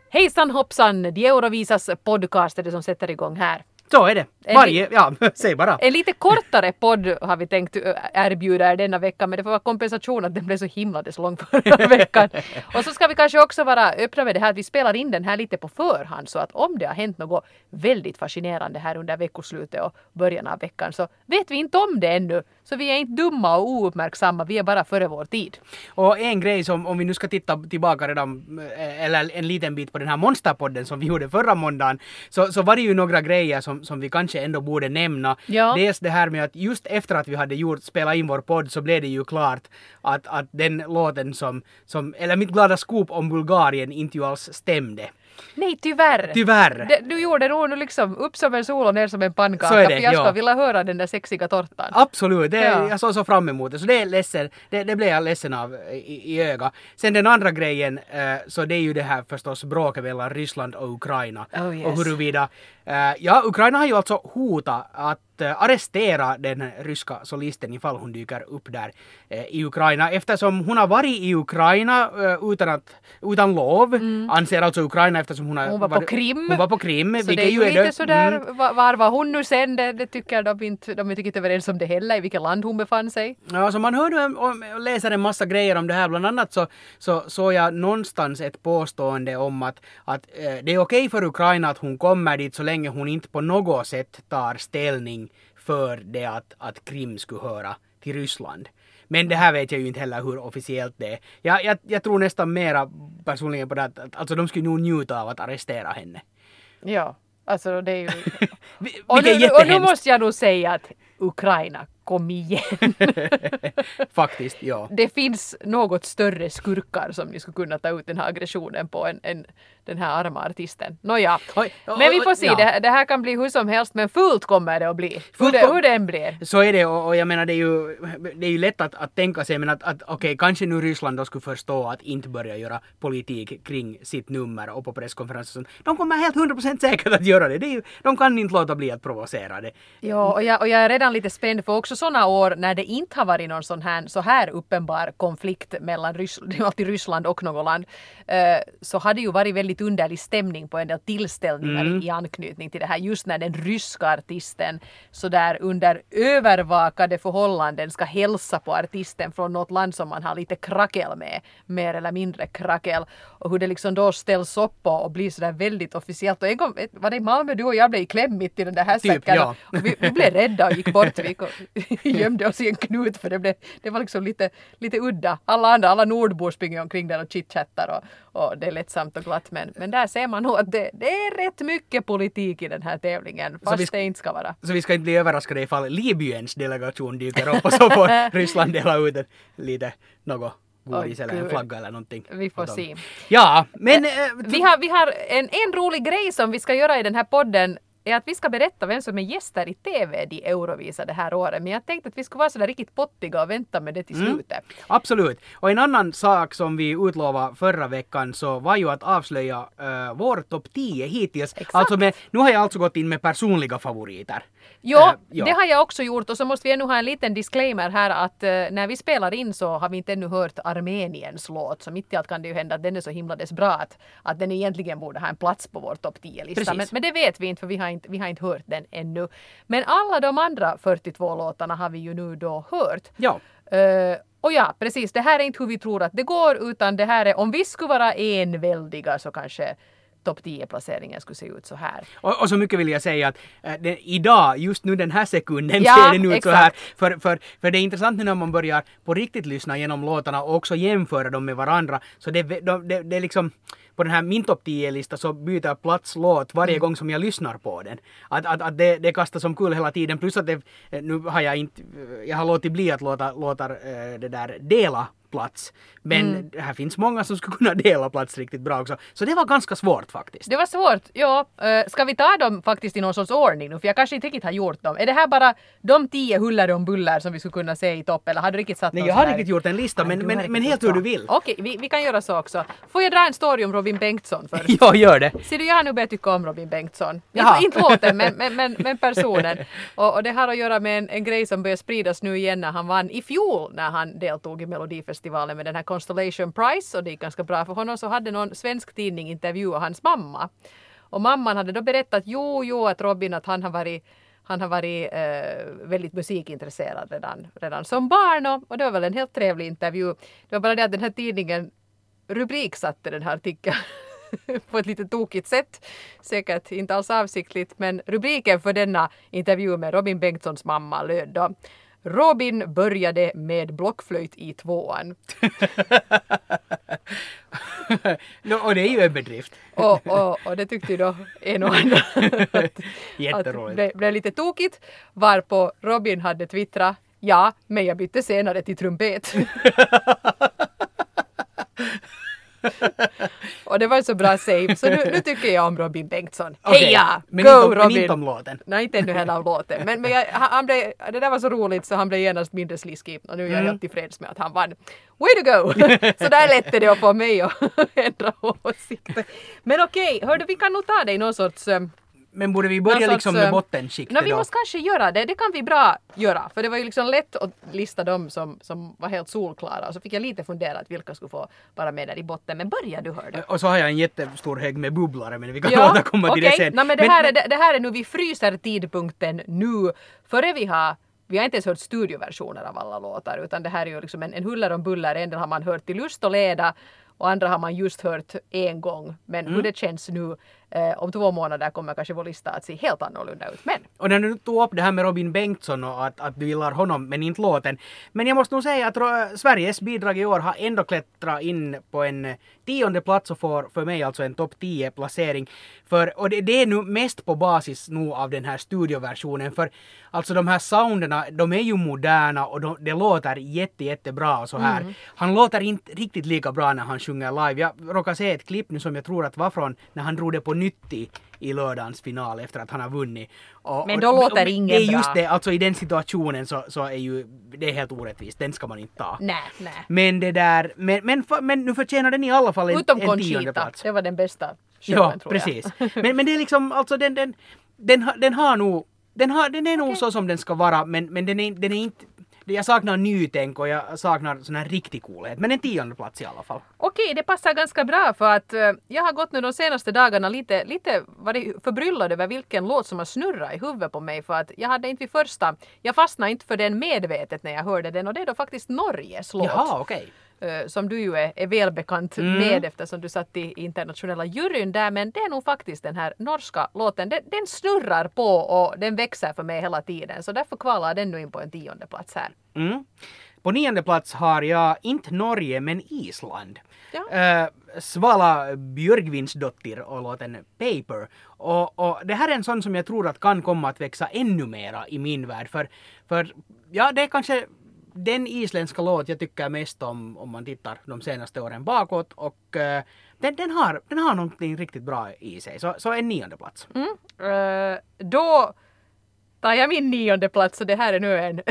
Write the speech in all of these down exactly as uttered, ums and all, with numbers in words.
Hejsan hoppsan, de Eurovisas podcast är det som sätter igång här. Så är det. Varje, ja, säg bara. En lite kortare podd har vi tänkt erbjuda er denna vecka, men det får vara kompensation att den blev så himla så lång förra veckan. Och så ska vi kanske också vara öppna med det här att vi spelar in den här lite på förhand, så att om det har hänt något väldigt fascinerande här under veckoslutet och början av veckan så vet vi inte om det ännu. Så vi är inte dumma och ouppmärksamma, vi är bara före vår tid. Och en grej som, om vi nu ska titta tillbaka redan, eller en liten bit på den här monsterpodden som vi gjorde förra måndagen, så, så var det ju några grejer som, som vi kanske ändå borde nämna. Ja. Dels det här med att just efter att vi hade gjort, spelat in vår podd så blev det ju klart att, att den låten som, som, eller mitt glada skop om Bulgarien inte ju alls stämde. Nej, tyvärr. Tyvärr. Det, du gjorde nog liksom upp som en sol och ner som en pannkaka. Så är det, för jag ska ja. vilja höra den där sexiga tortan. Absolut, det, Ja. jag såg så fram emot det. Så det är ledsen, det, det blev jag ledsen av i, i öga. Sen den andra grejen, eh, så det är ju det här förstås bråket mellan Ryssland och Ukraina. Oh, yes. Och huruvida, eh, ja, Ukraina har ju alltså hotat att eh, arrestera den ryska solisten ifall hon dyker upp där eh, i Ukraina. Eftersom hon har varit i Ukraina eh, utan, att, utan lov, mm. anser alltså Ukraina eftersom hon har Hon var på varit, Krim. Hon var på Krim. Så det är ju lite det. sådär, mm. var, var var hon nu sen? Det, det tycker de inte, de är inte överens om det heller, i vilket land hon befann sig. Ja, så man hör nu och läser en massa grejer om det här. Bland annat så så såg jag någonstans ett påstående om att, att eh, det är okej för Ukraina att hon kommer dit så länge hon inte på något sätt tar ställning för det att, att Krim skulle höra till Ryssland. Men det här vet jag ju inte heller hur officiellt det är. Jag, jag, jag tror nästan mera personligen på det att, att alltså de skulle nog njuta av att arrestera henne. Ja, alltså det är ju... och, nu, och nu måste jag nog säga att Ukraina, kom igen. Faktiskt, ja. Det finns något större skurkar som ni skulle kunna ta ut den här aggressionen på än, än den här arma artisten. Nåja, Oj, oj, men vi får se. ja. Det, det här kan bli hur som helst, men fullt kommer det att bli. Hur det, hur det än blir. Så är det, och, och jag menar det är ju, det är ju lätt att, att tänka sig, men att, att okej, okay, kanske nu Ryssland då skulle förstå att inte börja göra politik kring sitt nummer och på presskonferensen. De kommer helt hundra procent säkert att göra det. Det är ju, de kan inte låta bli att provocera det. Ja, och jag, och jag är redan lite spänd för också sådana år när det inte har varit någon sån här, så här uppenbar konflikt mellan Ryssland, alltid Ryssland och något land, eh, så har det ju varit väldigt underlig stämning på en del tillställningar mm. i anknytning till det här. Just när den ryska artisten så där under övervakade förhållanden ska hälsa på artisten från något land som man har lite krackel med, mer eller mindre krackel, och hur det liksom då ställs upp och, och blir så där väldigt officiellt. Och en gång var det i Malmö, du och jag blev i kläm mitt i den där hästsäcken. Typ, ja. Och vi, vi blev rädda och gick bort. Vi gömde oss i en knut för det, blev, det var liksom lite, lite udda. Alla andra, alla nordbor springer omkring där och chitchattar och, och det är lättsamt och glatt. Men, men där ser man nog att det, det är rätt mycket politik i den här tävlingen, fast vi, det inte ska vara. Så vi ska inte bli överraskade ifall Libyens delegation dyker upp och så får Ryssland dela ut en, lite något godis oh, eller en flagga eller någonting. Vi får se. Ja, men... Äh, vi har, vi har en, en rolig grej som vi ska göra i den här podden, är att vi ska berätta vem som är gäster i T V de Eurovisa det här året. Men jag tänkte att vi skulle vara så där riktigt pottiga och vänta med det till slutet. Mm, absolut. Och en annan sak som vi utlovade förra veckan så var ju att avslöja uh, vår topp tio hittills. Exakt. Alltså med, nu har jag alltså gått in med personliga favoriter. Jo, uh, ja, det har jag också gjort, och så måste vi ännu ha en liten disclaimer här att uh, när vi spelar in så har vi inte ännu hört Armeniens låt, så mitt i allt kan det ju hända att den är så himla dess bra att, att den egentligen borde ha en plats på vår topp tio-lista. Men, men det vet vi inte, för vi har inte, vi har inte hört den ännu. Men alla de andra fyrtiotvå låtarna har vi ju nu då hört. Ja. Uh, och ja, precis, det här är inte hur vi tror att det går, utan det här är, om vi skulle vara enväldiga så kanske topp tio-placeringen skulle se ut så här. Och, och så mycket vill jag säga att äh, det, idag, just nu den här sekunden ja, ser det nu ut exakt. så här. För, för, för det är intressant nu när man börjar på riktigt lyssna genom låtarna och också jämföra dem med varandra. Så det, det, det, det är liksom... På den här min topp tio-lista så byter plats låt varje mm. gång som jag lyssnar på den. Att, att, att det, det kastar som kul hela tiden. Plus att det, nu har jag inte... Jag har låtit bli att låta, låta äh, det där dela plats. Men mm. här finns många som skulle kunna dela plats riktigt bra också. Så det var ganska svårt faktiskt. Det var svårt, ja. Uh, ska vi ta dem faktiskt i någon sorts ordning nu? För jag kanske inte riktigt har gjort dem. Är det här bara de tio huller och buller som vi skulle kunna se i topp? Eller har du riktigt satt Nej, någon jag har här? riktigt gjort en lista, men, Nej, men, men helt hur du vill. Okej, okay, vi, vi kan göra så också. Får jag dra en story om Robin Bengtsson först? Ja, gör det. Ser du, jag har nu börjat tycka om Robin Bengtsson. Inte, inte låten, men, men, men, men personen. Och, och det har att göra med en, en grej som börjar spridas nu igen när han vann i fjol när han deltog i Melodifestivalen. Melodifestivalen med den här Constellation Prize och det gick ganska bra för honom, så hade någon svensk tidning intervjuat hans mamma. Och mamman hade då berättat jo, jo att Robin att han har varit Han har varit eh, väldigt musikintresserad redan, redan som barn och, och det var väl en helt trevlig intervju. Det var bara det att den här tidningen rubriksatte den här artikeln på ett lite tokigt sätt. Säkert inte alls avsiktligt, men rubriken för denna intervju med Robin Bengtssons mamma löd då: Robin började med blockflöjt i tvåan. no, och det är ju en bedrift. och, och, och det tyckte ju då en och annan att, Jätteroligt. att det blev lite tokigt. Varpå Robin hade twittrat: ja, men jag bytte senare till trumpet. Och det var så bra save, så nu, nu tycker jag om Robin Bengtsson. Okay. Heja! Men Go inte om, Robin! Men inte om låten. Nej, inte ännu heller om låten. Men, men jag, han blev, det där var så roligt så han blev genast mindre sliskig. Och nu är jag Mm. helt tillfreds med att han vann. Way to go! Så där lätte det att få mig att ändra åsikter. Men okej, hörde vi kan nog ta det i någon sorts... um, Men borde vi börja någon liksom sorts, med um, bottenskiktet No, vi då? måste kanske göra det. Det kan vi bra göra. För det var ju liksom lätt att lista dem som, som var helt solklara. Och så fick jag lite fundera att vilka skulle få vara med där i botten. Men börja du hörde. Och så har jag en jättestor hög med bubblare, men vi kan Ja, återkomma till okej. det sen. No, men det, Men- här men- är, det, det här är nu, vi fryser tidpunkten nu. Före vi har, vi har inte ens hört studioversioner av alla låtar. Utan det här är ju liksom en, en huller om buller. En del har man hört till lust och leda. Och andra har man just hört en gång. Men Mm. hur det känns nu eh, om två månader kommer kanske vår lista att se helt annorlunda ut. Men Och när du tog upp det här med Robin Bengtsson och att, att du gillar honom men inte låten. Men jag måste nog säga att Ro- Sveriges bidrag i år har ändå klättrat in på en tionde plats och får för mig alltså en topp tio placering. För, och det, det är nu mest på basis nu av den här studioversionen. För alltså de här sounderna, de är ju moderna och de, det låter jätte, jättebra och så här. Mm. Han låter inte riktigt lika bra när han sjunger live. Jag råkar se ett klipp nu som jag tror att var från när han drog det på nytt i, i lördagens final efter att han har vunnit. Och, Men och- då låter och- ingen det är just bra. det, alltså i den situationen så, så är ju det är helt orättvist. Den ska man inte ta. nej, nej. Men det där, men, men, för- men nu förtjänar den i alla fall en, Utom en tionde Conchita. plats. Det var den bästa showen Ja, tror jag. precis. Men, men det är liksom, alltså den, den, den, har- den har nog, den, har, den är nog Okej. så som den ska vara, men, men den, är, den är inte, jag saknar nytänk och jag saknar sån här riktig coolhet. Men en tionde plats i alla fall. Okej, det passar ganska bra för att eh, jag har gått nu de senaste dagarna lite, lite varit förbryllad över vilken låt som har snurrat i huvudet på mig för att jag hade inte vid första, jag fastnade inte för den medvetet när jag hörde den och det är då faktiskt Norges låt. Jaha, okej. eh, som du ju är, är välbekant Mm. med eftersom du satt i internationella juryn där, men det är nog faktiskt den här norska låten, den, den snurrar på och den växer för mig hela tiden så därför kvalar den nu in på en tionde plats här. Mm. På nionde plats har jag inte Norge men Island. Ja. Eh, Svala Björgvinsdottir och låten Paper. Och, och det här är en sån som jag tror att kan komma att växa ännu mera i min värld. För, för ja, det är kanske den isländska låt jag tycker mest om om man tittar de senaste åren bakåt. Och eh, den, den, har, den har någonting riktigt bra i sig. Så, så en nionde plats. Mm. Eh, då tar jag min nionde plats och det här är nu en...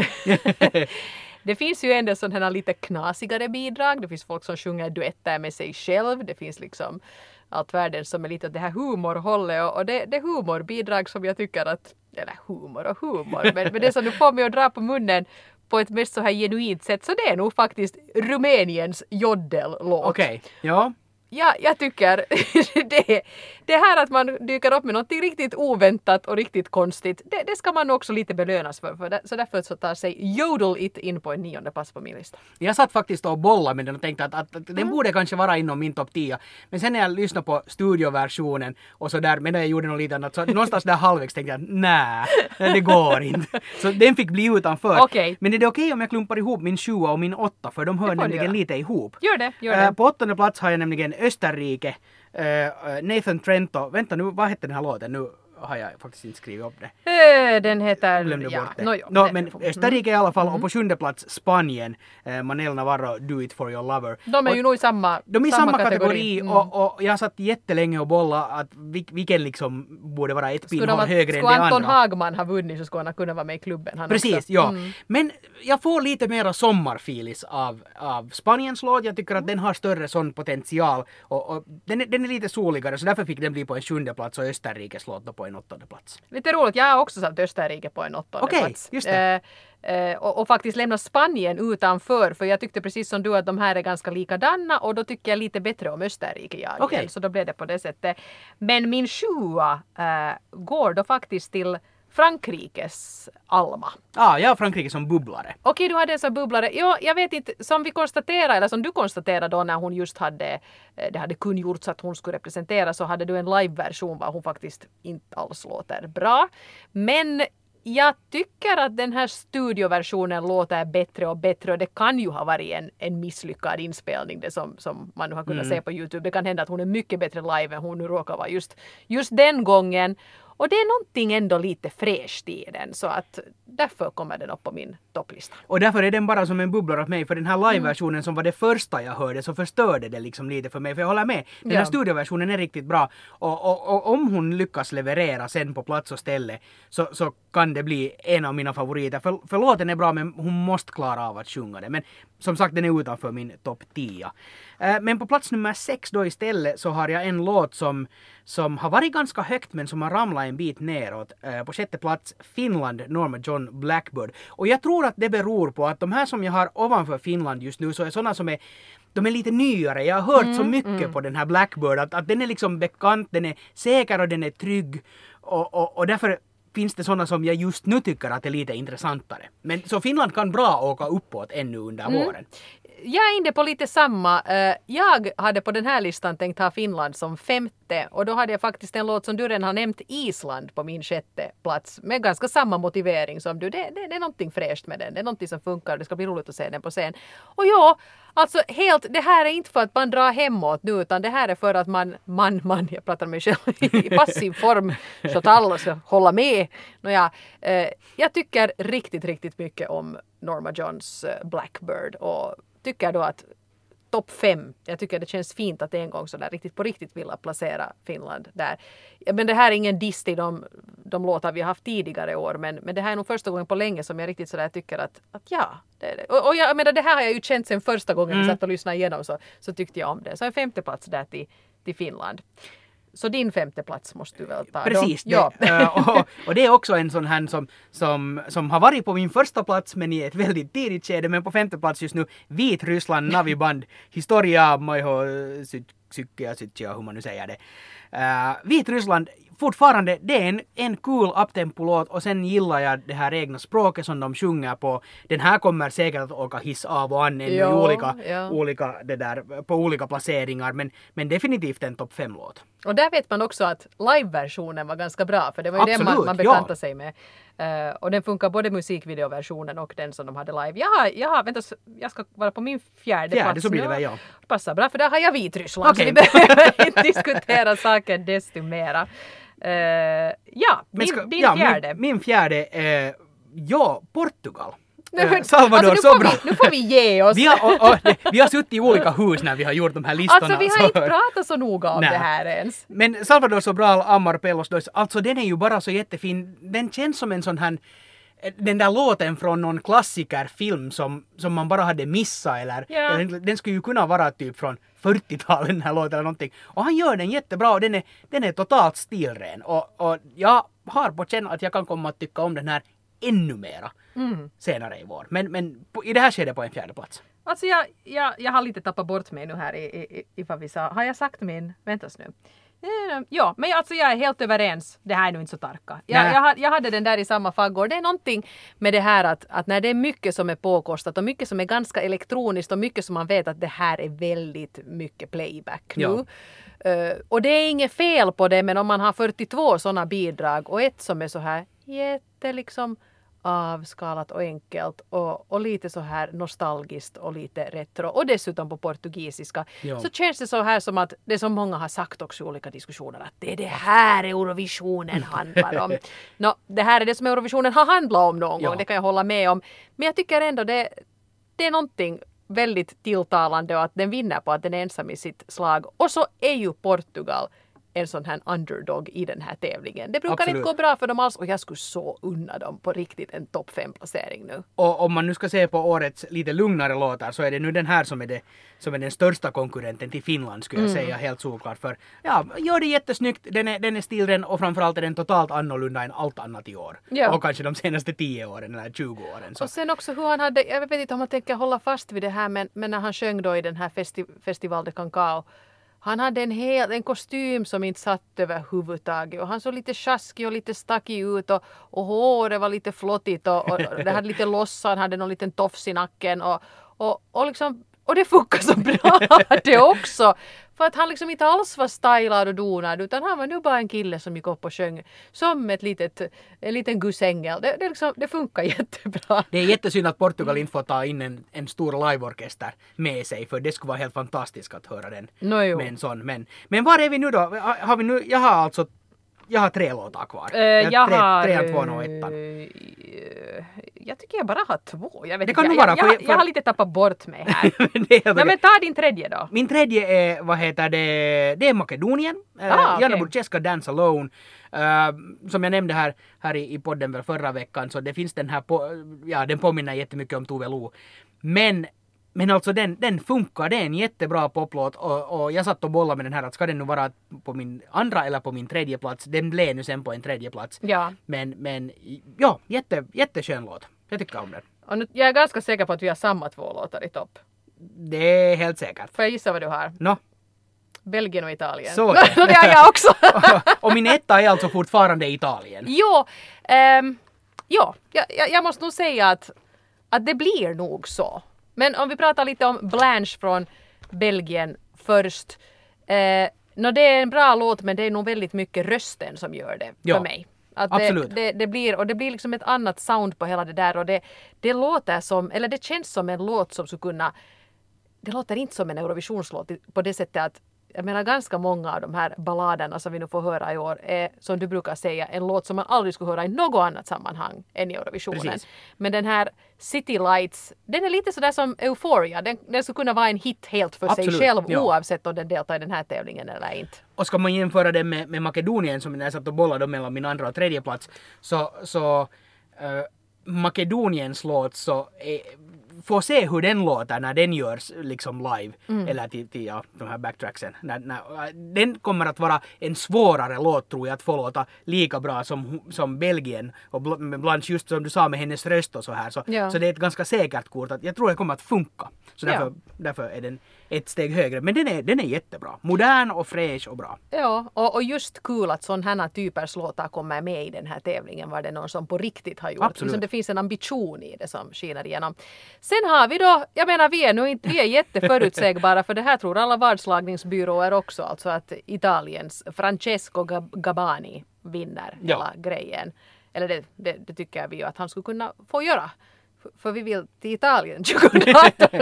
Det finns ju ändå sådana här lite knasigare bidrag. Det finns folk som sjunger duetter med sig själv. Det finns liksom allt världen som är lite åt det här humorhållet. Och, och det, det är humorbidrag som jag tycker att... Eller humor och humor. Men, men det som du får mig att dra på munnen på ett mest så här genuint sätt. Så det är nog faktiskt Rumäniens joddellåt. Okej, ja. Ja, jag tycker det, det här att man dyker upp med något riktigt oväntat och riktigt konstigt, det, det ska man också lite belönas för. för det, så därför så tar sig Jodel It in på en nionde plats på min lista. Jag satt faktiskt och bollade med den och tänkte att, att, att den Mm. borde kanske vara inom min topp tio. Men sen när jag lyssnade på studioversionen och så där, medan jag gjorde något lite annat, så någonstans där halvvägs tänkte jag nej, det går inte. Så den fick bli utanför. Okej. Men är det okej om jag klumpar ihop min sjua och min åtta, för de hör Det får du nämligen göra. lite ihop. Gör det, gör Eh, det. På åttonde plats har jag nämligen Österrike, eh, Nathan Trento. Vänta nu, vad hette den här låten? Nu har jag faktiskt inte skrivit upp det. Eh, Den heter... Jag glömde ja, bort det. no, jo, Nå, det- men mm. Österrike i alla fall, och på sjunde plats Spanien, eh, Manel Navarro, Do It For Your Lover. De är Och ju nog i samma de är i samma kategori, Mm. och, och jag satt jättelänge och bolla att vil- vilken liksom borde vara ett Skulle, de, pinnhål att- högre än skulle det Anton andra. Hagman ha vunnit så skulle han kunna vara med i klubben. Han Precis, också. ja. Mm. Men jag får lite mera sommarfilis av, av Spaniens låt. Jag tycker att den har större sån potential. Och, och den, är, den är lite soligare, så därför fick den bli på en sjunde plats och Österrikes låt då på en åttonde plats. Lite roligt, jag har också satt Österrike på en åttonde Okej, plats. just det. Eh, eh, och, och faktiskt lämna Spanien utanför, för jag tyckte precis som du att de här är ganska likadana och då tycker jag lite bättre om Österrike jag Okej. igen, så då blev det på det sättet. Men min sjua eh, går då faktiskt till Frankrikes Alma. Ja, ah, jag har Frankrike som bubblare. Okej, du hade en sån bubblare. Ja, jag vet inte, som vi konstaterade, eller som du konstaterade då när hon just hade, det hade kungjorts att hon skulle representera, så hade du en live-version var hon faktiskt inte alls låter bra. Men jag tycker att den här studioversionen låter bättre och bättre, och det kan ju ha varit en, en misslyckad inspelning, det som, som man nu har kunnat Mm. se på YouTube. Det kan hända att hon är mycket bättre live än hon nu råkar vara just, just den gången. Och det är någonting ändå lite fräscht i den, så att därför kommer den upp på min topplista. Och därför är den bara som en bubblare åt mig, för den här live-versionen som var det första jag hörde så förstörde det liksom lite för mig, för jag håller med. Den här Ja. studioversionen är riktigt bra, och, och, och om hon lyckas leverera sen på plats och ställe så, så kan det bli en av mina favoriter. För, för låten är bra, men hon måste klara av att sjunga det. Men som sagt, den är utanför min topp tio. Eh, men på plats nummer sex då istället så har jag en låt som, som har varit ganska högt men som har ramlat en bit neråt. Eh, på sjätte plats Finland, Norma John Blackbird. Och jag tror att det beror på att de här som jag har ovanför Finland just nu så är sådana som är de är lite nyare. Jag har hört mm, så mycket mm. på den här Blackbird att, att den är liksom bekant, den är säker och den är trygg. Och, och, och därför finns det sådana som jag just nu tycker att är lite intressantare. Men så Finland kan bra åka uppåt ännu under mm. våren. Jag är inne på lite samma. Jag hade på den här listan tänkt ha Finland som femte, och då hade jag faktiskt en låt som du redan har nämnt, Island, på min sjätte plats med ganska samma motivering som du. Det, det, det är någonting fräscht med den. Det är någonting som funkar. Det ska bli roligt att se den på scen. Och ja, alltså helt, det här är inte för att man drar hemåt nu, utan det här är för att man, man, man, jag pratar med mig själv i passiv form så att alla ska hålla med. Nåja, eh, jag tycker riktigt, riktigt mycket om Norma Johns Blackbird, och tycker då att topp fem, jag tycker det känns fint att en gång så där riktigt på riktigt vilja placera Finland där. Men det här är ingen diss till de, de låtar vi har haft tidigare år, men, men det här är nog första gången på länge som jag riktigt sådär tycker att, att ja, det är det. Och, och jag menar, det här har jag ju känt sen första gången mm. vi satt och lyssnade igenom, så, så tyckte jag om det. Så en femte plats där till, till Finland. Så din femte plats måste du väl ta Precis, då? Ja. Det, och, och det är också en sån här som, som, som har varit på min första plats men i ett väldigt tidigt skede, men på femte plats just nu, Vitryssland Naviband, Historia Maiho Sykkia Sytsia, hur man nu säger det. Uh, Vitryssland, fortfarande, det är en, en cool uptempo-låt, och sen gillar jag det här egna språket som de sjunger på. Den här kommer säkert att åka hiss av och an i olika, ja. olika, det där, på olika placeringar, men, men definitivt en topp fem-låt. Och där vet man också att live-versionen var ganska bra, för det var ju Absolut, den man, man bekantade ja. sig med. Uh, och den funkar både musikvideoversionen och den som de hade live. Jag har, jag har vänta, jag ska vara på min fjärde, fjärde plats så blir det nu. väl, ja. Passar bra, för där har jag Vitryssland, okay. så vi behöver inte diskutera saken desto mera. Uh, ja, din, ska, din ja, fjärde. Min, min fjärde är, ja, Portugal. Nej, Salvador alltså, nu, får Sobral. vi, nu får vi ge oss. Vi har, och, och, vi har suttit i olika hus när vi har gjort de här listorna. Alltså vi har så. inte pratat så noga om Nej. det här ens. Men Salvador Sobral, Amar Pellos Dois, alltså den är ju bara så jättefin. Den känns som en sån här, den där låten från någon klassikerfilm som, som man bara hade missat, eller, ja. eller den skulle ju kunna vara typ från fyrtiotalet den här låten eller någonting. Och han gör den jättebra, och den är, den är totalt stilren. Och, och jag har på känna att jag kan komma att tycka om den här ännu mera mm. senare i vår. Men, men på, i det här skedet på en fjärde plats. Alltså jag, jag, jag har lite tappat bort mig nu här i, i, i vad vi sa. Har jag sagt min? Väntas nu. Ja, men alltså jag är helt överens. Det här är nu inte så tarka. Jag, jag, jag hade den där i samma faggård. Det är någonting med det här att, att när det är mycket som är påkostat och mycket som är ganska elektroniskt och mycket som man vet att det här är väldigt mycket playback nu. Ja. Uh, och det är inget fel på det, men om man har fyrtiotvå sådana bidrag och ett som är så här jätte liksom avskalat och enkelt och, och lite så här nostalgiskt och lite retro och dessutom på portugisiska, ja. Så känns det så här som att det som många har sagt också i olika diskussioner, att det är det här Eurovisionen handlar om. No, det här är det som Eurovisionen har handlat om någon ja. gång, det kan jag hålla med om. Men jag tycker ändå det, det är någonting väldigt tilltalande, och att den vinner på att den är ensam i sitt slag. Och så är ju Portugal en sån här underdog i den här tävlingen. Det brukar Absolut. inte gå bra för dem alls och jag skulle så unna dem på riktigt en topp fem placering nu. Och om man nu ska se på årets lite lugnare låtar så är det nu den här som är, det, som är den största konkurrenten till Finland skulle jag Mm. säga helt såklart. För ja, gör det jättesnyggt, den är, den är stilren och framförallt är den totalt annorlunda än allt annat i år. Ja. Och kanske de senaste tio åren eller tjugo åren. Så. Och sen också hur han hade, jag vet inte om man tänker hålla fast vid det här men, men när han sjöng då i den här festi- Festival de Cancao. Han hade en hel en kostym som inte satt över huvudtaget och han såg lite sjaskig och lite stackig ut och, och håret var lite flottigt och, och det hade lite lossa, han hade någon liten tofs i nacken och, och, och liksom och det funkar så bra det också. För att han liksom inte alls var stylad och donad utan han var nu bara en kille som gick upp och sjöng som ett litet, en liten gussängel. Det, det, liksom, det funkar jättebra. Det är jättesynd att Portugal inte får ta in en, en stor liveorkester med sig för det skulle vara helt fantastiskt att höra den No, jo. med en sån. Men, men var är vi nu då? Har, har vi nu? Jag har alltså jag har tre låtar kvar. Uh, jag tre, har... Trean, tvåan och ettan. Uh, jag tycker jag bara har två. Jag, vet Det inte. kan jag, nog vara, jag, för- jag, för- jag har lite tappat bort mig här. Det är helt Nej, okej. men ta din tredje då. Min tredje är, vad heter det, det är Makedonien. Uh, Ah, okej. Jana Budjeska Dance Alone. Uh, som jag nämnde här, här i, i podden väl förra veckan så det finns den här, på, ja den påminner jättemycket om Tove Lo. Men Men alltså den, den funkar, det är en jättebra poplåt och, och jag satt och bollade med den här att ska den nu vara på min andra eller på min tredje plats. Den blev nu sen på en tredje plats. Ja. Men, men ja, jätte, jätteskön låt. Jag tycker om den. Och nu, jag är ganska säker på att vi har samma två låtar i topp. Det är helt säkert. Får jag gissa vad du har? Nå, Belgien och Italien. så är det. Det har jag också. Och min etta är alltså fortfarande Italien. Jo, ehm, ja, jag, jag, jag måste nog säga att, att det blir nog så. Men om vi pratar lite om Blanche från Belgien först. Eh, no, det är en bra låt men det är nog väldigt mycket rösten som gör det Ja, för mig. Att absolut. Det, det, det blir, och det blir liksom ett annat sound på hela det där och det, det låter som, eller det känns som en låt som skulle kunna, det låter inte som en Eurovisionslåt på det sättet att jag menar ganska många av de här balladerna som vi nu får höra i år är som du brukar säga en låt som man aldrig skulle höra i något annat sammanhang än i Eurovisionen. Precis. Men den här City Lights, den är lite sådär som Euphoria. Den, den skulle kunna vara en hit helt för Absolut, sig själv ja. oavsett om den deltar i den här tävlingen eller inte. Och ska man jämföra det med, med Makedonien som jag satt och bollade mellan min andra och tredje plats så, så uh, Makedoniens låt så är, får se hur den låter när den görs liksom live Mm. eller till, till ja, de här backtracksen. När, när, den kommer att vara en svårare låt tror jag att få låta lika bra som, som Belgien och Bl- med Blanche just som du sa med hennes röst och så här. Så, Ja. så det är ett ganska säkert kort att jag tror det kommer att funka. Så därför, Ja. därför är den ett steg högre. Men den är, den är jättebra. Modern och fräsch och bra. Ja, och, och just kul att sådana här typers låtar kommer med i den här tävlingen. Var det någon som på riktigt har gjort. Absolut. Liksom det finns en ambition i det som skiner igenom. Sen har vi då, jag menar vi är nu inte, vi är jätteförutsägbara för det här tror alla vadslagningsbyråer också. Alltså att Italiens Francesco Gab- Gabani vinner Ja. hela grejen. Eller det, det, det tycker vi ju att han skulle kunna få göra. För, för vi vill till Italien tjugohundraarton.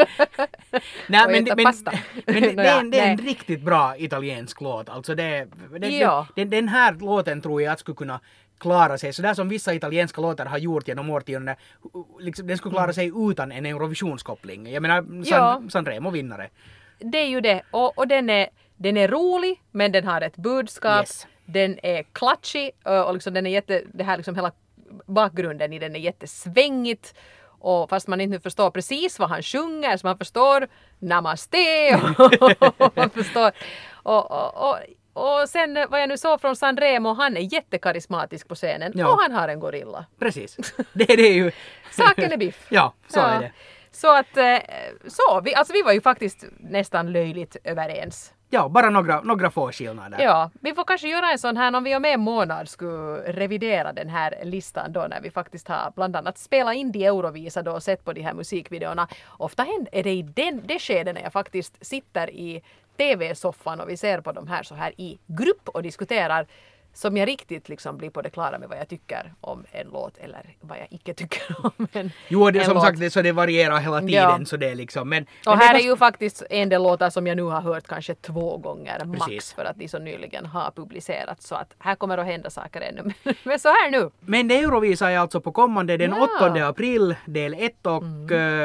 Nej, Och men, äta men, pasta. men det, det, är en, det är en Nej. riktigt bra italiensk låt. Alltså det, det, Ja. den, den här låten tror jag att skulle kunna klara sig. Så där som vissa italienska låtar har gjort genom årtionden. Liksom, den skulle klara sig utan en Eurovisionskoppling. Jag menar, San, Ja. Sanremo vinnare. Det är ju det. Och, och den, är, den är rolig men den har ett budskap. Yes. Den är klatschig och liksom den är jätte, det här liksom hela bakgrunden i den är jättesvängigt. Och fast man inte förstår precis vad han sjunger så man förstår namaste och man förstår och, och, och, och sen vad jag nu såg från Sanremo, han är jättekarismatisk på scenen Ja. och han har en gorilla. Precis. Det, det är ju... Saken är biff. Ja, så Ja. är det. Så att, eh, så, vi, alltså vi var ju faktiskt nästan löjligt överens. Ja, bara några, några få skillnader. Ja, vi får kanske göra en sån här om vi om en månad skulle revidera den här listan då när vi faktiskt har bland annat spelat in de Eurovisa då och sett på de här musikvideorna. Ofta händer är det i den, det skedet när jag faktiskt sitter i tv-soffan och vi ser på de här så här i grupp och diskuterar som jag riktigt liksom blir på det klara med vad jag tycker om en låt eller vad jag icke tycker om en, Jo, det är en som låt. sagt det, så det varierar hela tiden. Ja. Så det är liksom, men, Och men här det är ju faktiskt en del låtar som jag nu har hört kanske två gånger max Precis. för att de så nyligen har publicerats. Så att här kommer att hända saker ännu. Men så här nu. Men det Eurovisa är alltså på kommande den Ja. åttonde april, del ett och eh,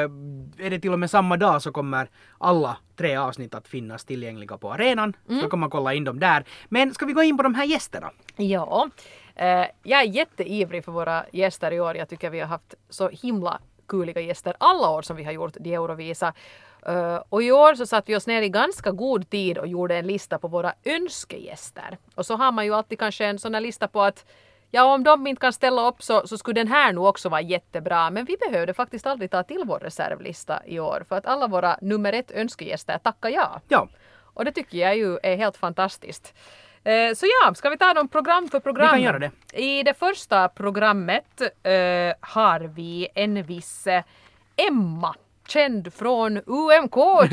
är det till och med samma dag så kommer alla tre avsnitt att finnas tillgängliga på arenan. Mm. Så kan man kolla in dem där. Men ska vi gå in på de här gästerna? Ja, eh, jag är jätteivrig för våra gäster i år. Jag tycker vi har haft så himla kuliga gäster alla år som vi har gjort de Eurovisa. Uh, och i år så satt vi oss ner i ganska god tid och gjorde en lista på våra önskegäster. Och så har man ju alltid kanske en sån här lista på att ja, om de inte kan ställa upp så, så skulle den här nog också vara jättebra. Men vi behövde faktiskt aldrig ta till vår reservlista i år. För att alla våra nummer ett önskegäster tackar ja. Ja. Och det tycker jag ju är helt fantastiskt. Eh, så ja, ska vi ta dem program för program? Vi kan göra det. I det första programmet eh, har vi en viss eh, Emma. Känd från U M K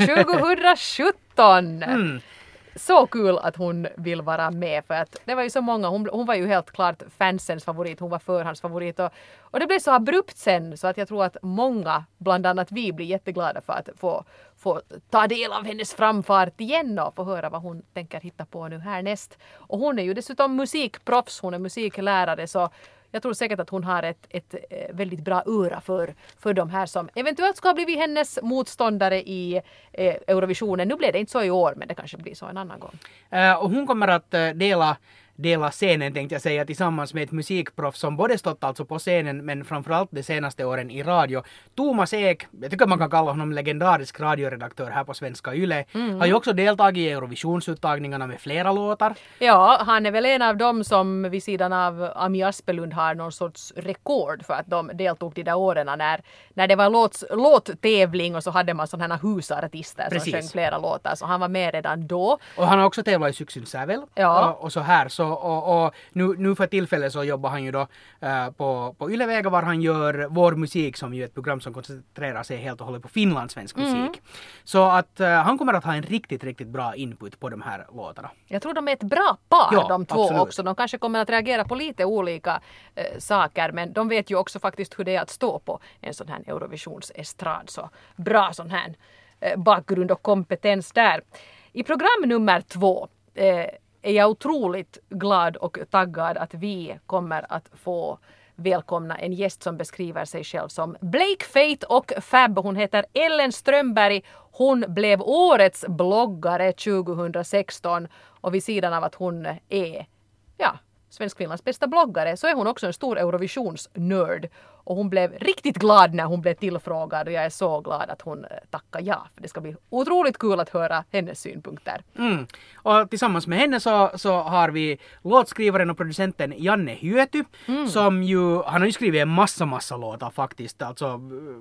tjugosjutton. mm. Så kul att hon vill vara med för att det var ju så många, hon, hon var ju helt klart fansens favorit, hon var förhandsfavorit och, och det blev så abrupt sen så att jag tror att många, bland annat vi, blir jätteglada för att få, få ta del av hennes framfart igen och få höra vad hon tänker hitta på nu härnäst. Och hon är ju dessutom musikproffs, hon är musiklärare så jag tror säkert att hon har ett, ett väldigt bra öra för, för de här som eventuellt ska ha blivit hennes motståndare i eh, Eurovisionen. Nu blev det inte så i år, men det kanske blir så en annan gång. Uh, och hon kommer att uh, dela dela scenen tänkte jag säga tillsammans med ett musikproffs som både stått alltså på scenen men framförallt de senaste åren i radio. Thomas Ek, jag tycker man kan kalla honom legendarisk radioredaktör här på Svenska Yle, mm. har ju också deltagit i Eurovisionsuttagningarna med flera låtar. Ja, han är väl en av dem som vid sidan av Ami Aspelund har någon sorts rekord för att de deltog de där åren när, när det var låt, låttävling och så hade man sådana här husartister som Precis. sjöng flera låtar så han var med redan då. Och han har också tävlat i Syksyns Sävel ja. och, och så här så och, och nu, nu för tillfället så jobbar han ju då uh, på, på Yle-Vega var han gör Vår musik som ju är ett program som koncentrerar sig helt och hållet på finlandssvensk musik. Mm. Så att uh, han kommer att ha en riktigt, riktigt bra input på de här låtarna. Jag tror de är ett bra par ja, de två absolut. också. De kanske kommer att reagera på lite olika uh, saker men de vet ju också faktiskt hur det är att stå på en sån här Eurovisionsestrad. Så bra sån här uh, bakgrund och kompetens där. I program nummer två uh, är jag otroligt glad och taggad att vi kommer att få välkomna en gäst som beskriver sig själv som Blake, Faith och Fab. Hon heter Ellen Strömberg. Hon blev årets bloggare tjugohundrasexton och vid sidan av att hon är ja, Svensk-Finlands bästa bloggare så är hon också en stor Eurovisionsnörd. Och hon blev riktigt glad när hon blev tillfrågad och jag är så glad att hon tackar ja. För det ska bli otroligt kul att höra hennes synpunkter. Mm. Och tillsammans med henne så, så har vi låtskrivaren och producenten Janne Hyöty mm. som ju, han har ju skrivit en massa massa låtar faktiskt. Alltså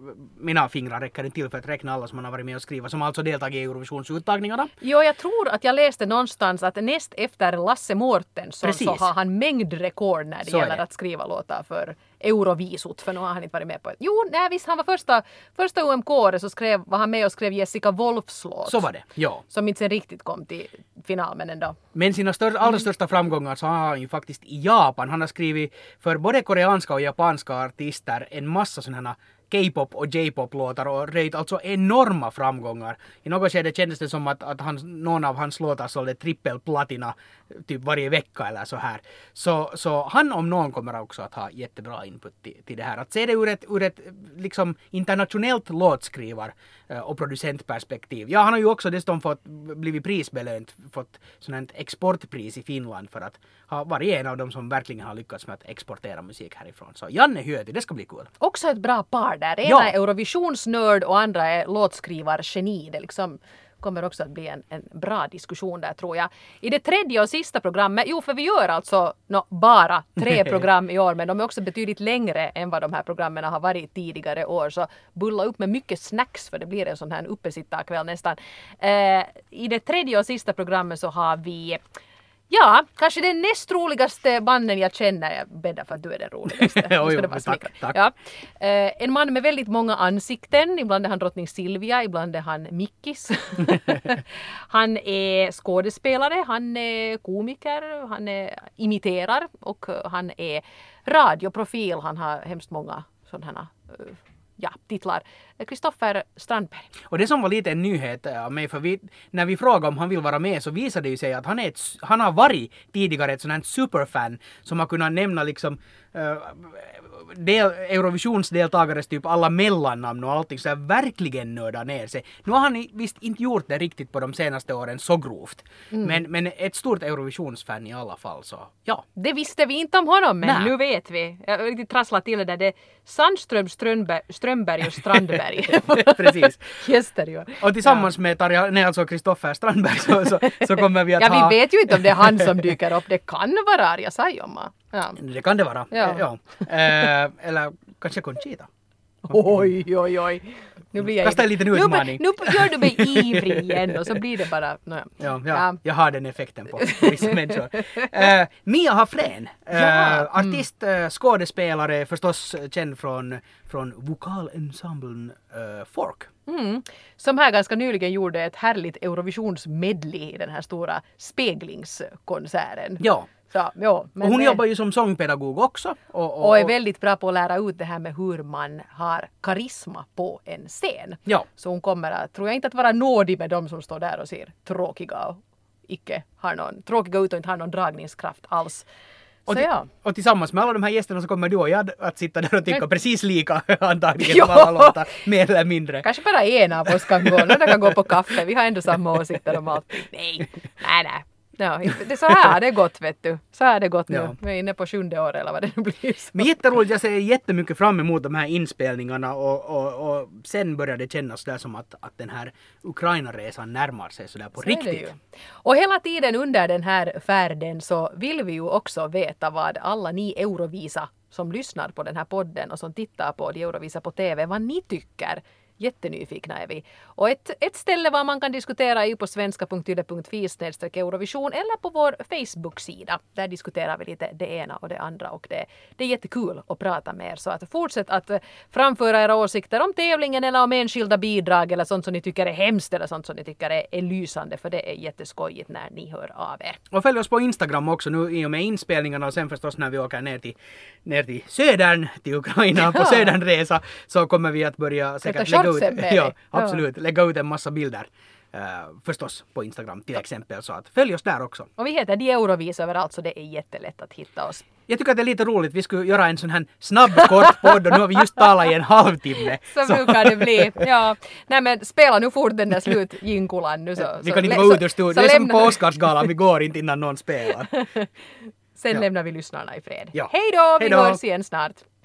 mina fingrar räcker inte till för att räkna alla som han har varit med och skriva som alltså deltagit i Eurovisionsuttagningarna. Jo, jag tror att jag läste någonstans att näst efter Lasse Mårtensson så har han mängdrekord när det så gäller att skriva låtar för Eurovisot, för nu har han inte varit med på det. Jo, nej visst, han var första, första U M K-året så skrev, var han med och skrev Jessica Wolfs låt. Så var det, ja. Som inte sen riktigt kom till final, men ändå. Men sina stör, allra största framgångar så har han ju faktiskt i Japan. Han har skrivit för både koreanska och japanska artister en massa sådana K-pop och J-pop-låtar och röjt alltså enorma framgångar. I något skede kändes det som att, att han, någon av hans låtar sålde trippelplatina typ varje vecka eller så här. Så, så han om någon kommer också att ha jättebra input till, till det här. Att se det ur ett, ur ett liksom internationellt låtskrivar och producentperspektiv. Ja, han har ju också dessutom fått blivit prisbelönt, fått sådant exportpris i Finland för att ha varit en av dem som verkligen har lyckats med att exportera musik härifrån. Så Janne Hyöty, det ska bli kul. Också ett bra par där. Ena ja. är Eurovisionsnörd och andra är låtskrivargeni. Det liksom kommer också att bli en, en bra diskussion där tror jag. I det tredje och sista programmet, jo för vi gör alltså no, bara tre program i år men de är också betydligt längre än vad de här programmen har varit tidigare år så bulla upp med mycket snacks för det blir en sån här uppesittarkväll nästan. Eh, I det tredje och sista programmet så har vi ja, kanske den näst roligaste mannen jag känner. Jag bäddar för att du är den roligaste. jo, jo, tack, tack. Ja. Eh, en man med väldigt många ansikten. Ibland är han drottning Silvia, ibland är han Mickis. Han är skådespelare, han är komiker, han är imiterar och han är radioprofil. Han har hemskt många sådana här uh, ja, titlar. Kristoffer Strandberg. Och det som var lite en nyhet av mig, för vi, när vi frågade om han vill vara med så visade det ju sig att han, är ett, han har varit tidigare ett sånt här superfan som har kunnat nämna liksom uh, del, Eurovisionsdeltagares typ alla mellannamn och allting, så här verkligen nörda ner sig. Nu har han visst inte gjort det riktigt på de senaste åren så grovt, mm. men, men ett stort Eurovisionsfan i alla fall, så ja. Det visste vi inte om honom, men Nä. nu vet vi. Jag har riktigt trasslat till det där. Det är Sandström, Strömberg, Strömberg och Strandberg. Precis. Gäster ju. Och tillsammans ja. med Tarja, nej, alltså Kristoffer Strandberg så, så, så kommer vi att ja, ha... Ja, vi vet ju inte om det är han som dyker upp. Det kan vara Arja Saijonmaa. Ja. Det kan det vara. Ja. Ja. Eh, eller kanske Conchita. Oj, oj, oj. Nu blir jag Kasta en liten utmaning. Nu, nu gör du mig ivrig igen och så blir det bara... No, ja. Ja, ja, ja, jag har den effekten på vissa människor. Uh, Mia Hafrén, uh, ja. artist, uh, skådespelare, förstås känd från, från vokalensemblen uh, Fork. Mm. Som här ganska nyligen gjorde ett härligt Eurovisionsmedley i den här stora speglingskonserten. Ja. Så, ja, men och hon det... jobbar ju som sångpedagog också. Och, och, och är väldigt bra på att lära ut det här med hur man har karisma på en scen. Ja. Så hon kommer att, tror jag inte att vara nådig med dem som står där och ser tråkiga och icke har någon, tråkiga ut och inte har någon dragningskraft alls. Och, så, ja. och tillsammans med alla de här gästerna så kommer du och jag att sitta där och tycka men... precis lika antagligen Jo. på alla låtar, mer eller mindre. Kanske bara en av oss kan gå, några kan gå på kaffe, vi har ändå samma åsikter om allt. Nej, nej, nej. Ja, det är så här har det gått, vet du. Så här har det gått nu. Ja. Vi är inne på sjunde år eller vad det nu blir. Så. Men jätteroligt, jag ser jättemycket fram emot de här inspelningarna och, och, och sen börjar det kännas där som att, att den här Ukraina-resan närmar sig sådär på så riktigt. Och hela tiden under den här färden så vill vi ju också veta vad alla ni Eurovisa som lyssnar på den här podden och som tittar på de Eurovisa på T V, vad ni tycker. Jättenyfikna är vi. Och ett, ett ställe var man kan diskutera är på svenska punkt yle punkt fi snedstreck Eurovision eller på vår Facebook-sida. Där diskuterar vi lite det ena och det andra och det, det är jättekul att prata med er. Så att fortsätt att framföra era åsikter om tävlingen eller om enskilda bidrag eller sånt som ni tycker är hemskt eller sånt som ni tycker är, är lysande, för det är jätteskojigt när ni hör av er. Och följ oss på Instagram också nu i och med inspelningarna och sen förstås när vi åker ner till, ner till södern, till Ukraina ja. på södernresa så kommer vi att börja säkert lägga ut, ja, absolut, ja. lägga ut en massa bilder. Uh, förstås på Instagram till exempel, så att följ oss där också. Och vi heter De Eurovisa överallt så det är jättelätt att hitta oss. Jag tycker att det är lite roligt, vi skulle göra en sån här snabb kort podd och nu har vi just talat i en halvtimme. Så, så brukar det bli, ja. Nej men spela nu fort den där slutjinkulan nu så. Vi så, kan inte så, gå ut ur studion, det är som lämna... på Oscarsgalan, vi går inte innan någon spelar. Sen ja. lämnar vi lyssnarna i fred. Ja. Hej då, vi Hej då. hörs igen snart.